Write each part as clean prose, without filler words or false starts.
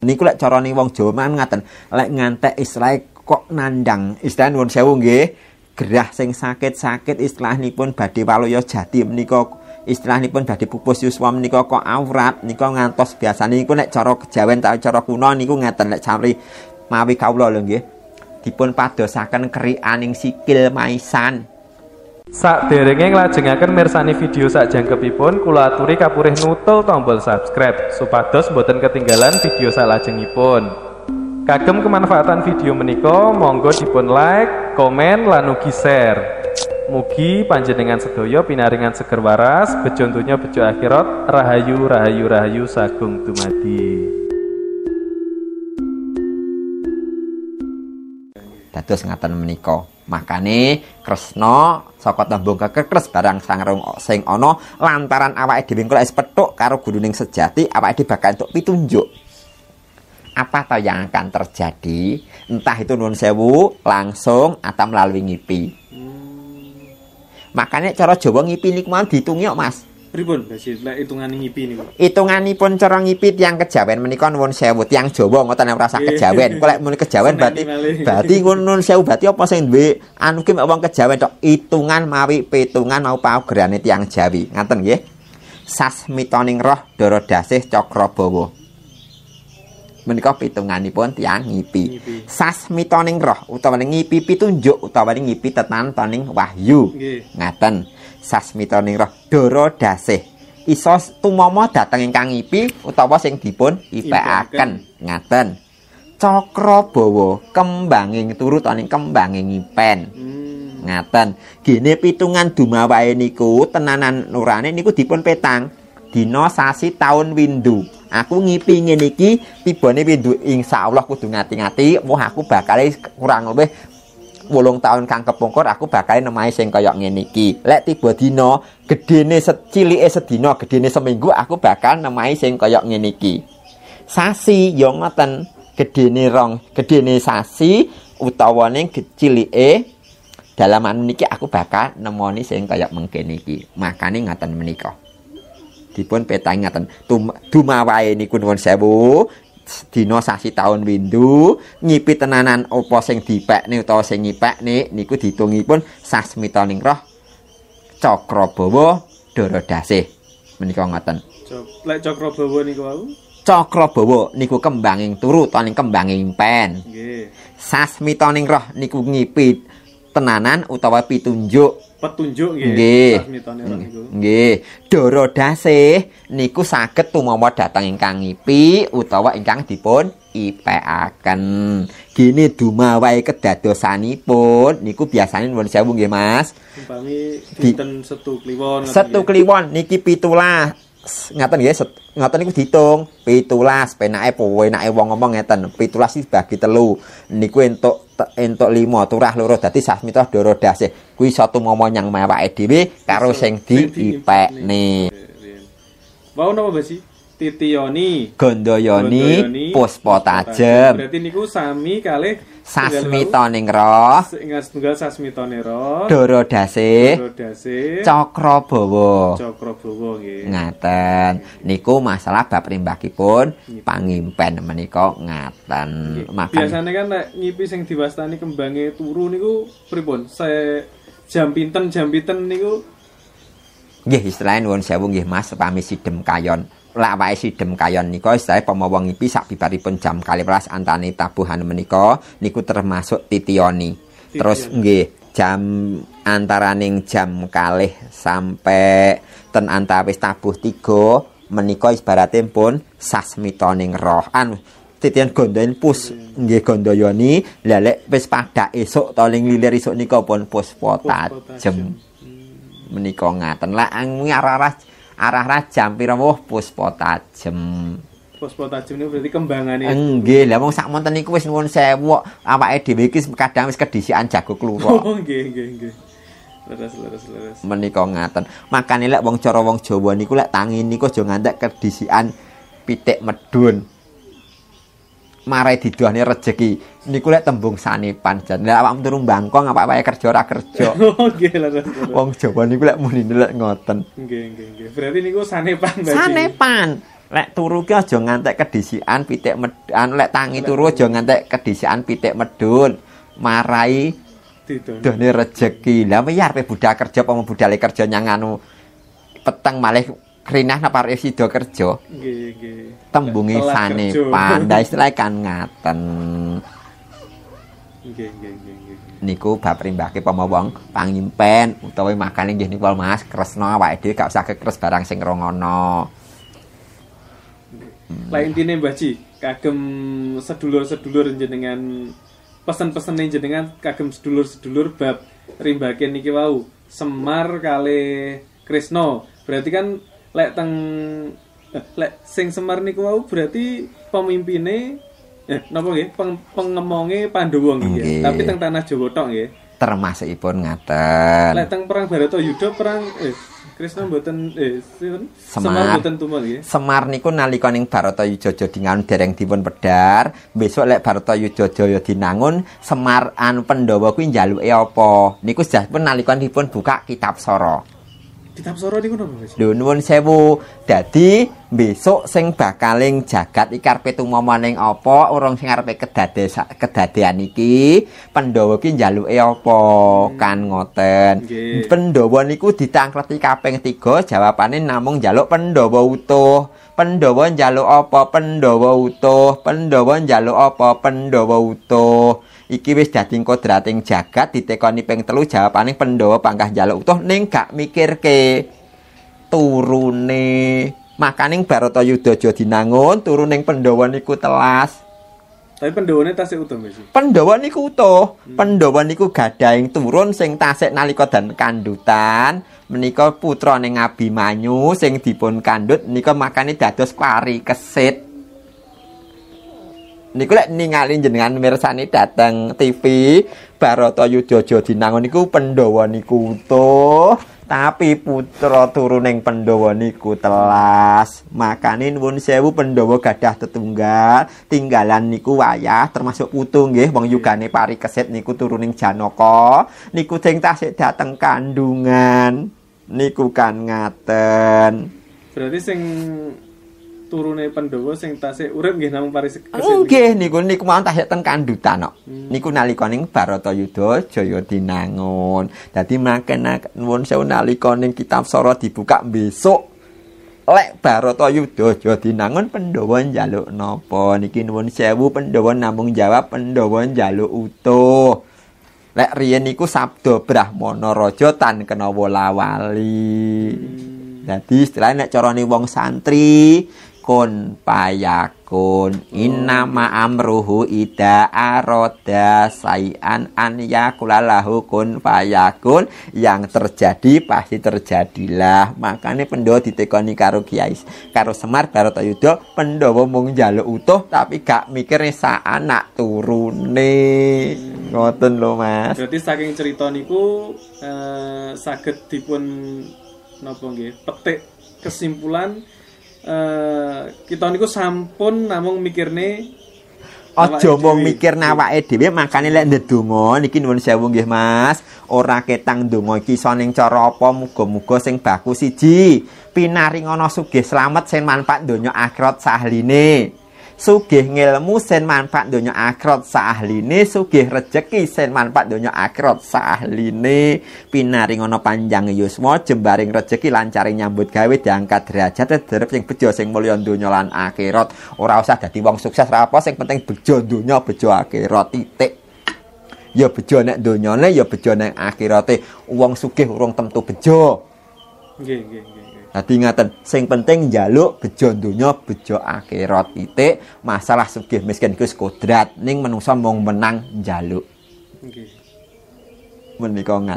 Niku lek carane wong Jawa man ngaten, lek ngantek istilah kok nandang, istilah nuwun sewu nggih, gerah sing sakit-sakit istilahipun badhe waluya jati menika istilahipun badhe pupus yuswa menika kok awrat nika ngantos biasane niku nek cara kejawen ta cara kuna niku ngaten lek samri mawi kawula lho nggih. Dipun padosaken krianing sikil maisan. Saderenge nglajengaken mirsani video sakjangkepipun kula aturi kapurih nutul tombol subscribe supados boten ketinggalan video salajengipun. Kagem kemanfaatan video menika monggo dipun like, komen lan ugi share. Mugi panjenengan sedaya pinaringan seger waras, bejo donya bejo akhirat, rahayu rahayu rahayu sagung dumadi. Dados ngaten menika. Makane Kresna saka tembung kekres barang sangrung sing ana lantaran awake dhewe kok wis pethuk karo guruning sejati, awake dhewe bakal entuk pitunjuk. Apa toh yang akan terjadi? Entah itu nuwun sewu langsung atau melalui ngipi. Makanya cara Jawa ngipi niku mau diitungi kok Mas. Pripun lek hitungane ngipi niku? Hitunganipun cara ngipi tiyang kejawen menika nuwun sewu tiyang Jawa ngoten ora usah kejawen. Kok lek muni kejawen berarti nuwun sewu berarti apa sing duwe anu ki wong kejawen tok hitungan mawi pitungan mau paugerane tiyang Jawi. Ngaten nggih. Sasmitaning roh dara dasih Cakrabawa. Menika pitunganipun tiyang ngipi. Sasmitaning roh utawa ngipi pitunjuk utawa ngipi tetantaning wahyu. Ngaten. Sasmitaning roh dara dasih iso tumama dhateng ingkang ngipi utawa sing dipun ipekaken. Ngaten. Cakrabawa kembanging turu taning kembanging ngipen. Ngaten. Gene pitungan dumawae niku tenanan nurane niku dipun petang dina sasi taun windu. Aku ngipi ngene iki tibane windu insyaallah kudu ngati-ngati, wah aku bakal kurang lebih 8 tahun kang kepungkur aku bakal nemahi sing kaya ngene iki. Lek tiba dina gedene cilike sedina, gedene seminggu aku bakal nemahi sing kaya ngene iki. Sasi ya ngoten, gedene sasi utawane cilike dalaman niki aku bakal nemoni sing kaya mengkene iki. Makane ngaten menika. Dipun petang ngaten dumawae niku nuwun sewu dina sasi taun windu ngipi tenanan apa sing dipekne utawa sing ngipekne niku ditungipun sasmitaning roh Cakrabawa dara dasih menika ngoten. Lek Cakrabawa niku wau Cakrabawa niku kembanging turu taning kembanging pen. Nggih. Sasmitaning roh niku ngipi tenanan utawa pitunjuk petunjuk nggih. Sasmitane roh niku. Nggih. Dara dasih niku saged tumama dhateng ingkang ngipi utawa ingkang dipun ipekaken. Gene dumawae kedadosanipun niku biasane nuwun sewu nggih Mas. Umpami dinten Setu Kliwon. Setu Kliwon niki 17. Ngaten nggih, ngoten niku diitung 17 penake enake wong ngomong ngeten 17 dibagi 3 niku entuk 5 turah loro dadi sasmita dara dasih kuwi satu momo nyang awake dhewe karo sing diipekne. Wau napa basi? Titiyoni, Gandayani, Puspa Tajem. Berarti niku sami kalih sasmitaning roh. Tunggal sasmitane roh. Dara dasih. Cakrabawa. Cakrabawa nggih. Ngaten. Niku masalah bab rimbakipun pangimpen menika ngaten. Biasane kan nek ngipi sing diwastani kembange turu niku pripun? Jam pinten niku? Nggih istilahipun nuwun sewu nggih Mas pami sidhem kayon. Lak wae sidhem kayon nika istilah pamawa ngipi sak bibaripun jam 12 antane tabuhan menika niku termasuk titiyoni. Terus nggih jam antaraning jam 2 sampai ten antawis tabuh 3 menika ibaratipun pun sasmitaning roh. Titian gondain pus nggih Gandayani. Lah lek wis padhak esuk to ling lilir esuk nika pun Puspa Tajem. Menika ngaten. Lah arah jam pira woh Puspa Tajem. Puspa Tajem niku berarti kembangane. Nggih, lah wong sak monten niku wis nuwun sewu awake dhewe iki kadang wis kedhisikan jago klura. Oh nggih. Leres. Menika ngaten. Makane lek wong cara wong Jawa niku lek tangi niku aja ngantek kedhisikan pitik medhun. marai didohne rejeki niku lek tembung sanepan jan lek awakmu turu bangkong apa wae kerja ora kerja nggih lho wong Jawa niku lek muni lek ngoten nggih berarti niku sanepan lek turu ki aja ngantek kedisikan pitik medun lek tangi turu aja ngantek kedisikan pitik medun marai didohne rejeki lah ya arep budal kerja apa budale kerja nyang anu peteng malih krinah napa arep sida kerja nggih tembunge sanepan ndak istilah kan ngaten nggih niku bab rimbake pama wong pangimpen utawa makane nggih niku Mas kresna awake dhewe gak usah kekres barang sing rongono lah intine Mbah Ji kagem sedulur-sedulur jenengan pesen-pesen jenengan kagem sedulur-sedulur bab rimbake niki wau Semar kali Kresna berarti kan lek sing Semar niku wau berarti pemimpine napa nggih pengemonge Pandhawa nggih tapi teng tanah Jawa tok nggih termasukipun ngaten lek teng perang Baratayuda perang Kresna mboten Semar mboten tumut nggih Semar niku nalika ning Baratayuda dinangun dereng dipun pedhar besok lek Baratayuda Jaya dinangun Semar Pandhawa kuwi njaluke apa niku sajapun nalika dipun buka kitab Sora Kitab Sora niku napa Mas? Lho nuwun sewu. Dadi besok sing bakaling jagat iki karepe tumama ning apa, urung sing arepe kedadean iki, Pandhawa ki njaluke apa? Kan ngoten. Pandhawa niku ditangkleti kaping 3, jawabane namung njaluk Pandhawa utuh. Pandhawa njaluk apa? Pandhawa utuh. Pandhawa njaluk apa? Pandhawa utuh. Iki wis dadi kodrating jagat ditekoni ping 3 jawabane Pandhawa panggah njaluk utuh ning gak mikirke turune makaning Baratayuda aja dinangun turuning Pandhawa niku telas tapi Pandhawane tasih utuh Mas Pandhawa niku utuh Pandhawa niku gadahing turun sing tasik nalika dan kandutan menika putrane Abimanyu sing dipun kandhut nika makane dados pari kesit niku lek ningali jenengan mirsani dateng TV Baratayuda aja dinangun niku Pandhawa niku utuh tapi putra turuning Pandhawa niku telas makane nuwun sewu Pandhawa gadah tetunggal tinggalan niku wayah termasuk putu nggih wong yugane pari kesit niku turuning Janaka niku sing tasik dateng kandungan niku kan ngaten berarti sing turune Pandhawa sing tasih urip nggih namung pari kesit. Nggih niku mawon tasih ten kandutan kok. Niku nalika ning Baratayuda Jaya dinangun. Dadi mangken nuwun sewu nalika ning kitab Sora dibuka besok lek Baratayuda Jaya dinangun Pandhawa njaluk napa niki nuwun sewu Pandhawa namung jawab Pandhawa njaluk utuh. Lek riyen niku sabda Brahmana Raja tan kena wola-wali. Dadi istilahnya nek carane wong santri kun payakun innama amruhu ida aroda sayan an yakulalahu kun payakun yang terjadi pasti terjadilah makanya Pandhawa ditekoni karo Kiai karo Semar Baratayuda Pandhawa mung njaluk utuh tapi gak mikir sak anak turune ngoten lho Mas berarti saking cerita niku saged dipun napa nggih petik kesimpulan kita niku sampun namung mikirne aja mung mikir awake dhewe makane lek ndedonga niki nuwun sewu nggih Mas ora ketang ndonga iki iso ning cara apa muga-muga sing baku siji pinaringana sugih slamet sing manfaat donya akhirat sahline sugih ngilmu sen manfaat donya akhirat saahline sugih rejeki sen manfaat donya akhirat saahline pinaringana panjang yuswa jembaring rejeki lancaring nyambut gawe diangkat derajat derep sing bejo sing mulya donya lan akhirat ora usah dadi wong sukses ra apa sing penting bejo donya bejo akhirat titik ya bejo nek donyane ya bejo nek akhirate wong sugih urung tentu bejo nggih dadi ngaten sing penting njaluk bejo donya bejo akhirat titik masalah sugih miskin iku kodrat ning menungsa mung menang njaluk nggih menika ngaten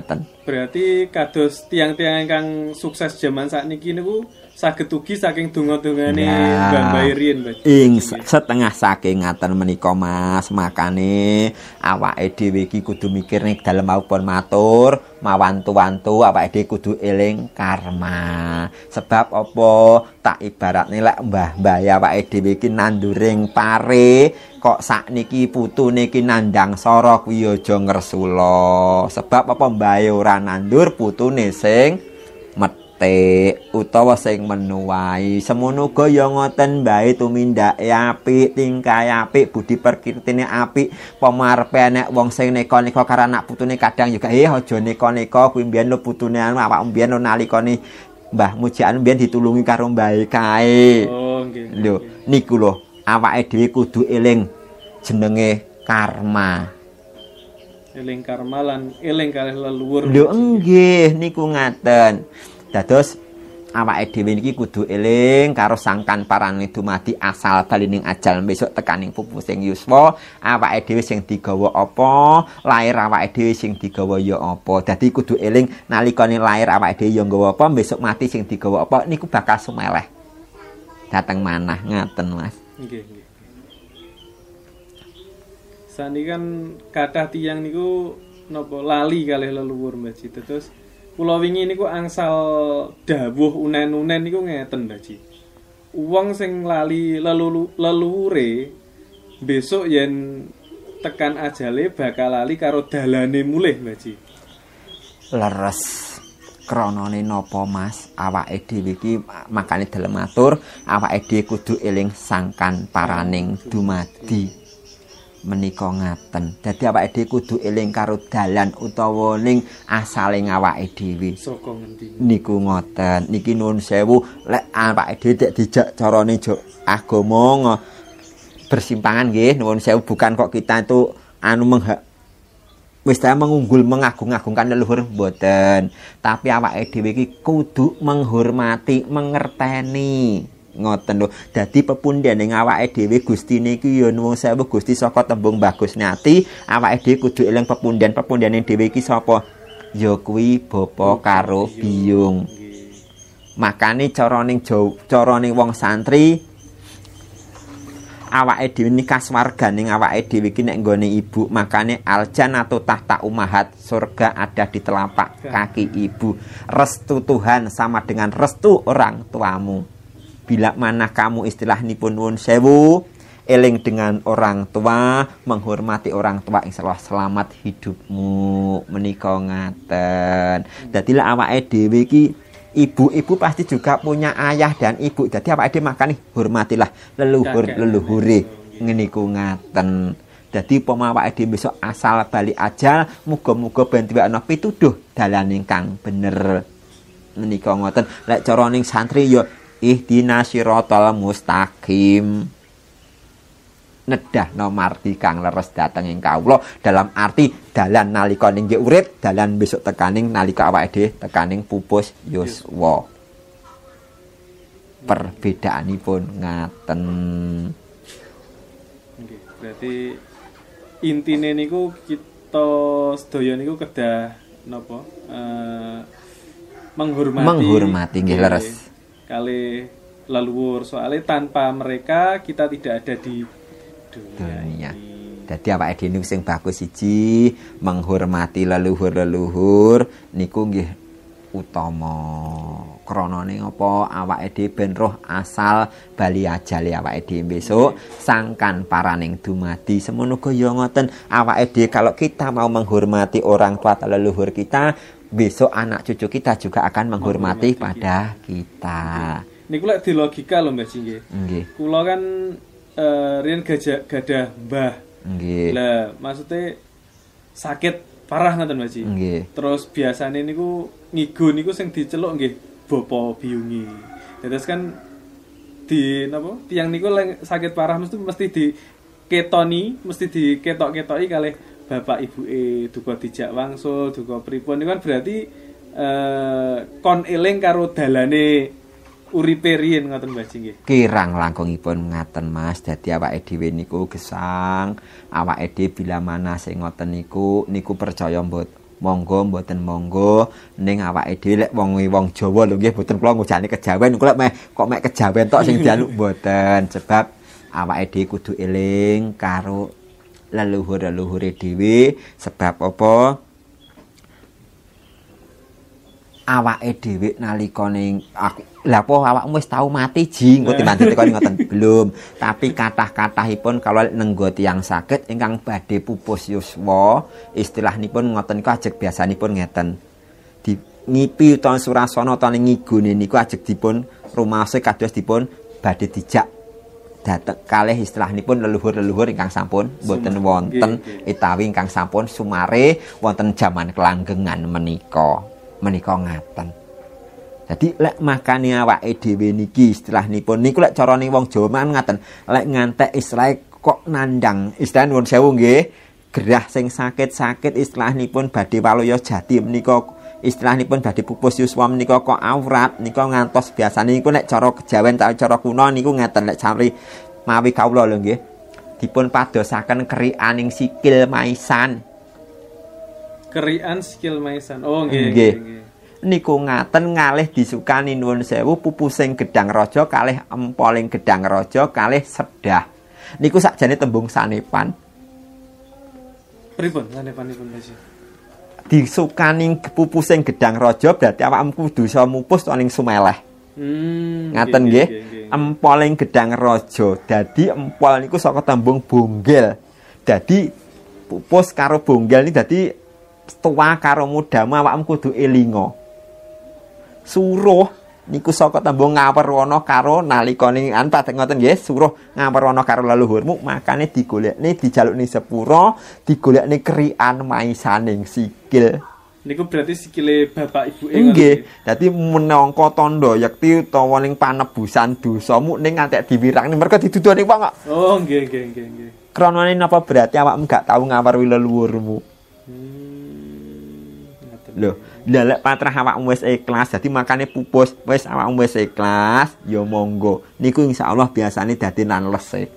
Berarti kados tiang-tiang ingkang sukses zaman sakniki niku saged ugi saking donga-dongane Mbah Mbah riyen, Mas. Setengah saking ngaten menika Mas, makane awake dhewe iki kudu mikir nek dalem maupun matur, mawantu-wantu awake dhewe kudu eling karma. Sebab apa tak ibaratne lek mbah-mbah awake dhewe iki nanduring pare kok sakniki putune iki nandang sora kuwi aja ngresula. Sebab apa mbahe ora nandur putune sing metik utawa sing menuwai. Semono uga ya ngoten mbahe tumindake apik, tingkahe apik, budi perkirtine apik, pamarepe nek wong sing neka-neka karo anak putune kadang juga aja neka-neka kuwi mbiyen lho putune awak mbiyen lho nalikane Mbah Mujian mbiyen ditulungi karo mbahe kae. Oh, nggih. Lho niku lho awake dhewe kudu eling jenenge karma. Eling karma lan eling kalih leluhur. Lho nggih niku ngaten. Dados awake dhewe niki kudu eling karo sangkan parane dumadi asal balining ajal besok tekaning pupusing yuswa. Awake dhewe sing digawa apa, lair awake dhewe sing digawa ya apa. Dadi kudu eling nalikane lair awake dhewe ya nggawa apa, besok mati sing digawa apa niku bakal sumeleh. Dateng manah ngaten Mas. Nggih, nggih. Sani kan kathah tiyang niku napa lali kalih leluhur Mbah Ji. Terus kula wingi niku angsal dawuh unen-unen niku ngeten Mbah Ji. Wong sing lali leluhure besok yen tekan ajale bakal lali karo dalane mulih Mbah Ji. Leres kronone napa Mas, awake dhewe iki makane dalem matur awake dhewe kudu eling sangkan paraning dumadi. Menika ngaten. Dadi awake dhewe kudu eling karo dalan utawa ning asale awake dhewe. Saka ngendi? Niku ngoten. Niki nuwun sewu lek awake dhewe tek dijak carane agama bersimpangan nggih nuwun sewu bukan kok kita itu wis mengunggul mengagung-agungkan leluhur mboten. Tapi awake dhewe iki kudu menghormati, mengerteni. Ngoten lho. Dadi pepundhening awake dhewe Gustine iki ya nuwun sewu Gusti saka tembung Bagus Nyati, awake dhewe kudu eling pepundhane dhewe iki sapa? Ya kuwi bapa karo biyung. Makane carane wong santri awake dhewe nikah swarganing awake dhewe iki nek nggone ibu, makane aljannatu tahta ummahat, surga ada di telapak kaki ibu. Restu Tuhan sama dengan restu orang tuamu. Bila mana kamu istilahnipun nuwun sewu eling dengan orang tua, menghormati orang tua, insyaallah selamat hidupmu. Menika ngaten. Dadi lek awake dhewe iki ibu-ibu pasti juga punya ayah dan ibu. Dadi awake dhewe makane hormatilah leluhure. Ngeniku ngaten. Dadi upama awake dhewe besok asal bali ajal, muga-muga ben duwe pituduh dalan ingkang bener. Menika ngoten. Lek cara ning santri ya ihdinas siratal mustaqim. Nedah nomardi kang leres dateng ing kawula dalam arti dalan nalika nggih urip, dalan besok tekaning nalika awake dhewe tekaning pupus yuswa. Perbedaanipun ngaten. Nggih, berarti intine niku kita sedaya niku kedah napa? Menghormati nggih leres. Kali leluhur, soalnya tanpa mereka kita tidak ada di dunia. Jadi awake dhewe sing bagus siji menghormati leluhur-leluhur niku nggih utama. Krana ning apa awake dhewe ben roh asal bali ajale awake dhewe besok sangkan paraning dumadi. Semono uga ya ngoten awake dhewe kalau kita mau menghormati orang tua atau leluhur kita, besok anak cucu kita juga akan menghormati pada kita. Niku lek di logika lho Mbah Ji nggih. Kula kan riyen gadah mbah. Nggih. Lah maksudnya sakit parah ngoten Mbah Ji. Nggih. Terus biasane niku ngigo niku sing diceluk nggih bapa biyungi. Terus kan di napa? Tiang niku sakit parah mesti diketoni, mesti diketok-ketoki kalih bapak ibuke duka dijak wangsul, duka pripun niku kan berarti kon eling karo dalane uripe riyen ngoten Mbah Ji nggih. Kirang langkungipun ngaten Mas. Dadi awake dhewe niku gesang, awake dhewe bila mana sing ngoten niku percaya monggo mboten monggo ning awake dhewe lek wong Jawa lho nggih mboten kula ngujani kejawen kok mek kejawen tok sing dialuk mboten sebab awake dhewe kudu eling karo leluhur-leluhure dhewe sebab apa awake dhewe nalikane lha apa awakmu wis tau mati ji engko dimanti tekan ngoten belum tapi kathah-kathahipun kalau nenggo tiyang saged ingkang badhe pupus yuswa istilahipun ngoten niku ajeg biasanipun ngeten di ngipi utawa surasana utawa ngigune niku ajeg dipun rumaose kados dipun badhe dijak dateng kalih istilahipun leluhur-leluhur ingkang sampun boten wonten utawi ingkang sampun sumare wonten jaman kelanggengan menika ngaten. Jadi lek makane awake dhewe niki istilahipun niku lek carane wong Jawa man ngaten. Lek ngantek istilah kok nandang istilah nuwun sewu nggih. Gerah sing sakit-sakit istilahipun badhe waloya jati menika istilahipun badhe pupus yuswa menika kok aurat nika ngantos biasane niku nek cara kejawen cara kuno niku ngeten lek samri mawi kawula lho nggih. Dipun padosaken kerikaning sikil maisan. Kerikan sikil maisan. Oh nggih. Niku ngaten ngalih disukani nuwun sewu pupusing gedang raja kalih empoling gedang raja kalih sedah. Niku sakjane tembung sanepan. Pripun sanepanipun Mas? Disukani pupusing gedang raja berarti awakmu kudu iso mupus ning sumeleh. Ngaten nggih. Empoling gedang raja. Dadi empol niku saka tembung bonggel. Dadi pupus karo bonggel niki dadi tua karo mudamu awakmu kudu elinga. Suruh niku saka tembung ngawerwana karo nalikane padhet ngoten nggih suruh ngawerwana karo leluhurmu makane digolekne dijalukne sepura digolekne krian maisaning sikil niku berarti sikile bapak ibuke ngoten nggih dadi menangka tandha yekti utawa ning panebusan dosamu ning ngantek diwirangne mergo didudoni wong kok oh nggih kronane napa berarti awakmu gak tau ngawerwi leluhurmu lho lek patrah awakmu wis ikhlas dadi makane pupus wis awakmu wis ikhlas ya monggo niku insyaallah biasane dadi nanlese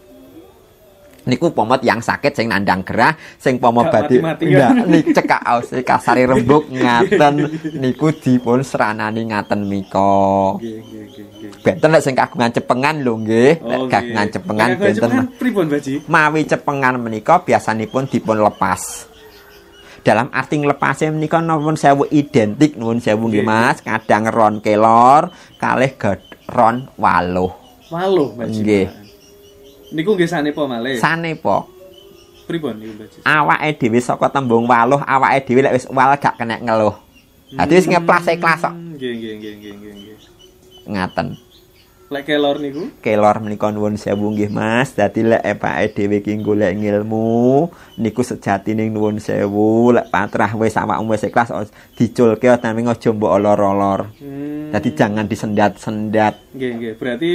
niku pomot yang sakit sing nandang gerah sing pomo badhe nik cekak ause kasare rembug ngaten niku dipun seranani ngaten mika nggih benten lek sing kagungan cepengan lho nggih lek kagungan cepengan benten pripun Baji mawi cepengan menika biasanipun dipun lepas dalam arti nglepase menika nuwun sewu identik nuwun sewu nggih Mas kadang ron kelor kalih ron waluh nggih niku nggih sanepa malih sanepa pripun niku Baji awake dhewe saka tembung waluh awake dhewe lek wis wal gak kena ngeluh dadi wis ngeplas ikhlas kok nggih ngaten lek kelor niku kelor menika nuwun sewu nggih Mas dadi lek epake dhewe ki golek ngilmu niku sejatine nuwun sewu lek patrah wis awakmu wis ikhlas diculke nanging aja mbok olor-olor dadi jangan disendat-sendat nggih berarti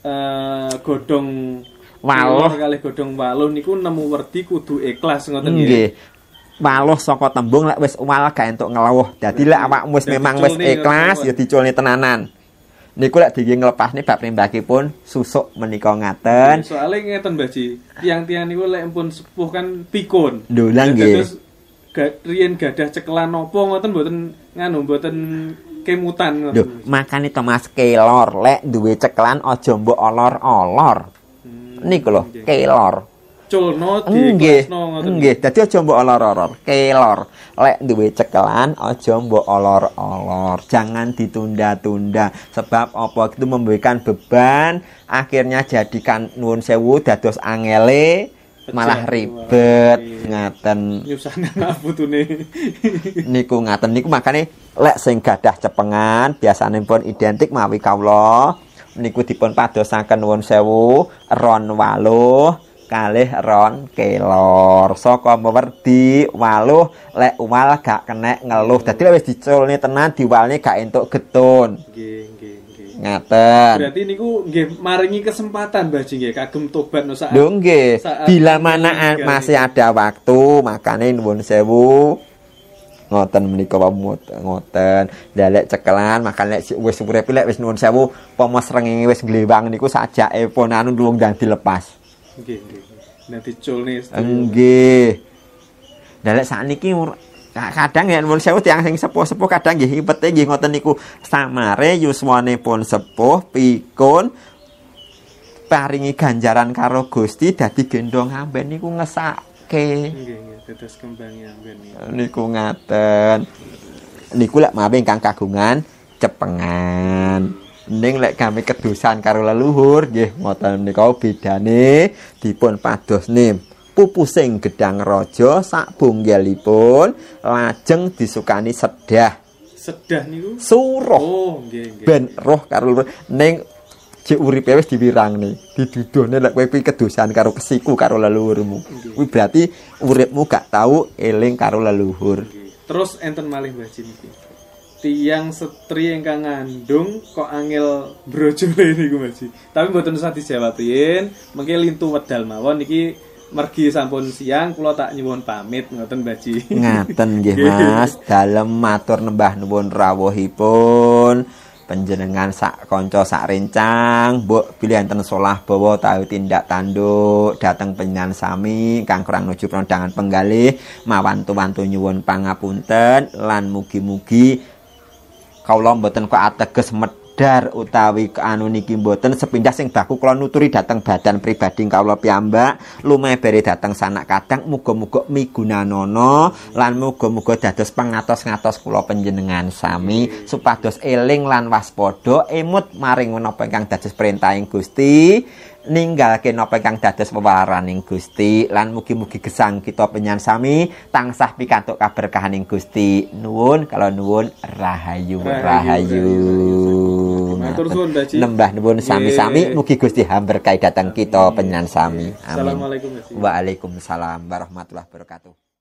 godhong waluh kalih godhong waluh niku nemu werdi kudu ikhlas ngoten nggih waluh saka tembung lek wis wal gak entuk ngeluh dadi lek awakmu wis memang wis ikhlas ya diculne tenanan niku lek dingge nglepasne bab rimbakipun susuk menika ngaten. Soale ngeten Baji, tiang-tiang niku lek pun sepuh kan pikun. Lho lah nggih. Terus riyen gadah cekelan napa ngoten mboten mboten kemutan ngoten. Lho, makane Thomas kelor lek duwe cekelan aja mbok olor-olor. Niku lho, kelor. Culno diklasno ngoten. Nggih, dadi aja mbok olor-olor. Kelor. Lek duwe cekelan aja mbok olor-olor. Jangan ditunda-tunda sebab apa itu memberikan beban akhirnya jadikan nuwun sewu dados angele malah ribet ngaten. Nyusahna ngaputune. Niku ngaten niku makane lek sing gadah cepengan biasane pun identik mawi kawula niku dipun padosaken nuwun sewu ron waluh kalih ron kelor saka mewerdi waluh lek wal gak kenek ngeluh dadi wis diculne tenan diwalne gak entuk getun nggih ngaten berarti niku nggih maringi kesempatan Baji nggih kagem tobat no saat lho nggih bila mana masih ada waktu makane nuwun sewu ngoten menika ngoten dalek cekelan makan lek wis urip lek wis nuwun sewu pomo srengenge wis glewang niku sajake pun anu ndung ndang dilepas nggih. Nek diculne nggih. Lah lek sakniki kadang ya nuwun sewu tiyang sing sepuh-sepuh kadang nggih ipete nggih ngoten niku samare yuswanipun sepuh pikun paringi ganjaran karo Gusti dadi gendong amben niku ngesake. Nggih, dados kembange amben niku ngaten. Niku lek mawe ingkang kagungan cepengan. Ning lek kami kedusan karo leluhur nggih ngoten nika bedane dipun padosne pupusing gedang raja sak bunggelipun lajeng disukani sedah. Sedah niku suruh. Oh, nggih. Ben roh karo ning jek uripe wis diwirangne, diduduhne lek kowe kedusan karo kesiku karo leluhurmu. Kuwi berarti uripmu gak tau eling karo leluhur. Terus enten malih Mbah Jin iki. Tiyang setri ingkang ngandung kok angel brojole niku Mbah Jin. Tapi mboten usah dijawab yen, mengke lintu wedal mawon iki mergi sampun siang kula tak nyuwun pamit ngoten Mbah Jin. Ngaten nggih Mas, dalem matur nembah nuwun rawuhipun panjenengan sak kanca sak rencang, mbok bilih enten solah bawa tahu tindak tanduk dhateng panjenengan sami kang kurang nuju prondangan penggalih mawantu-wantu nyuwun pangapunten lan mugi-mugi kawula mboten kok ateges medar utawi anu niki mboten sepindah sing baku kula nuturi dhateng badan pribadi kawula piyambak lumebere dhateng sanak kadang muga-muga migunanana lan muga-muga dados pangatos-ngatos kula panjenengan sami supados eling lan waspada emut maring menapa ingkang dados perintahing Gusti ninggalke napa ingkang dados wewaraning Gusti lan mugi-mugi gesang kita penyan sami tansah pikantuk kaberkahaning Gusti nuwun kalau nuwun rahayu matur suwun Mbah Jin nembah nuwun sami-sami mugi Gusti berkahi dhateng kita penyan sami amin. Assalamualaikum. Waalaikumsalam warahmatullahi wabarakatuh.